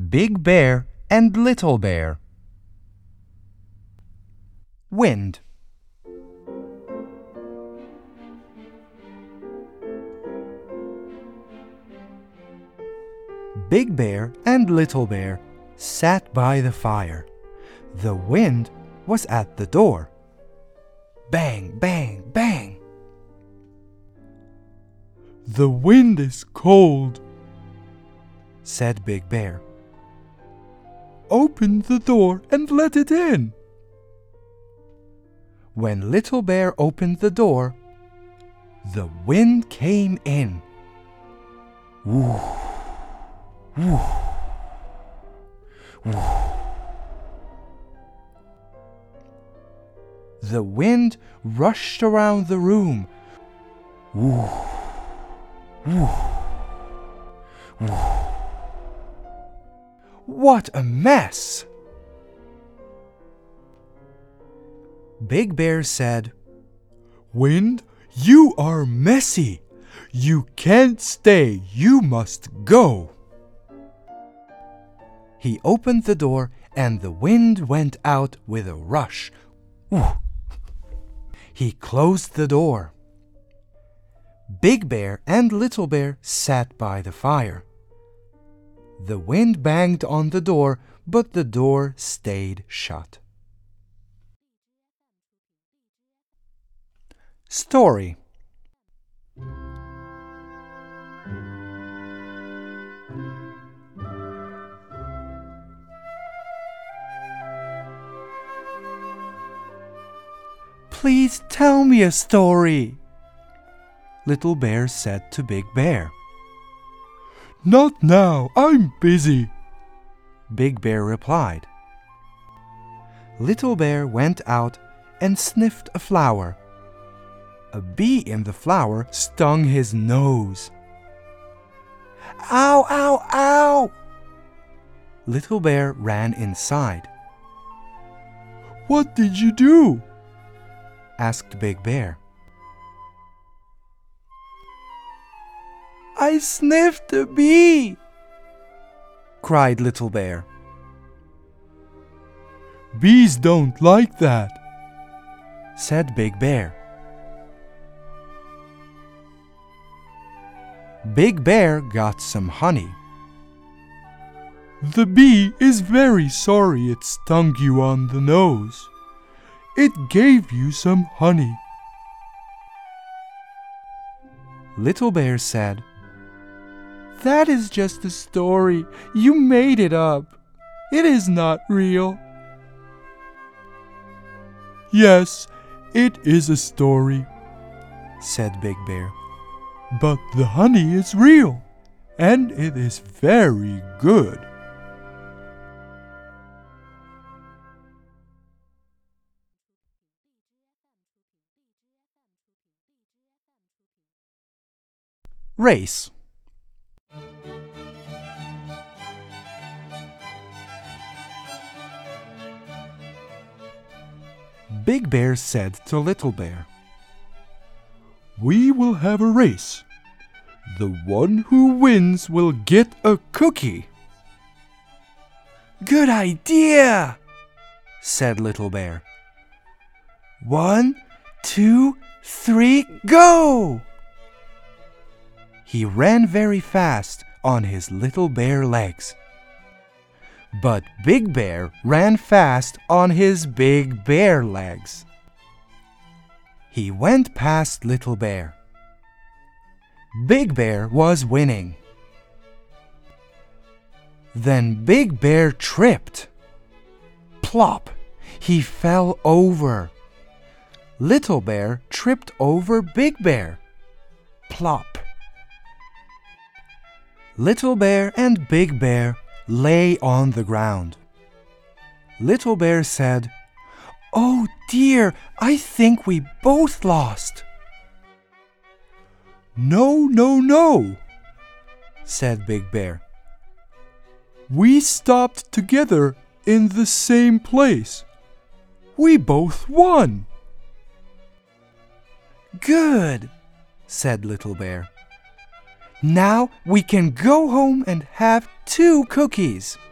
Big Bear and Little Bear. Wind. Big Bear and Little Bear sat by the fire. The wind was at the door. Bang, bang, bang. "The wind is cold," said Big Bear. "Open the door and let it in." When Little Bear opened the door, the wind came in. Woo, woo, woo. The wind rushed around the room. Woo, woo, woo. What a mess! Big Bear said, "Wind, you are messy. You can't stay. You must go." He opened the door and the wind went out with a rush. Woo. He closed the door. Big Bear and Little Bear sat by the fire. The wind banged on the door, but the door stayed shut. Story. Please tell me a story, Little Bear said to Big Bear. "Not now, I'm busy," Big Bear replied. Little Bear went out and sniffed a flower. A bee in the flower stung his nose. Ow, ow, ow! Little Bear ran inside. "What did you do?" asked Big Bear. "I sniffed a bee!" cried Little Bear. "Bees don't like that," said Big Bear. Big Bear got some honey. "The bee is very sorry it stung you on the nose. It gave you some honey." Little Bear said, "That is just a story. You made it up. It is not real." "Yes, it is a story," said Big Bear. "But the honey is real, and it is very good." Race. Big Bear said to Little Bear, "We will have a race. The one who wins will get a cookie." "Good idea," said Little Bear. 1, 2, 3, go! He ran very fast on his little bear legs. But Big Bear ran fast on his big bear legs. He went past Little Bear. Big Bear was winning. Then Big Bear tripped. Plop! He fell over. Little Bear tripped over Big Bear. Plop! Little Bear and Big Bear lay on the ground. Little Bear said, "Oh dear, I think we both lost." "No, no, no," said Big Bear. "We stopped together in the same place. We both won." "Good," said Little Bear. "Now we can go home and have 2 cookies."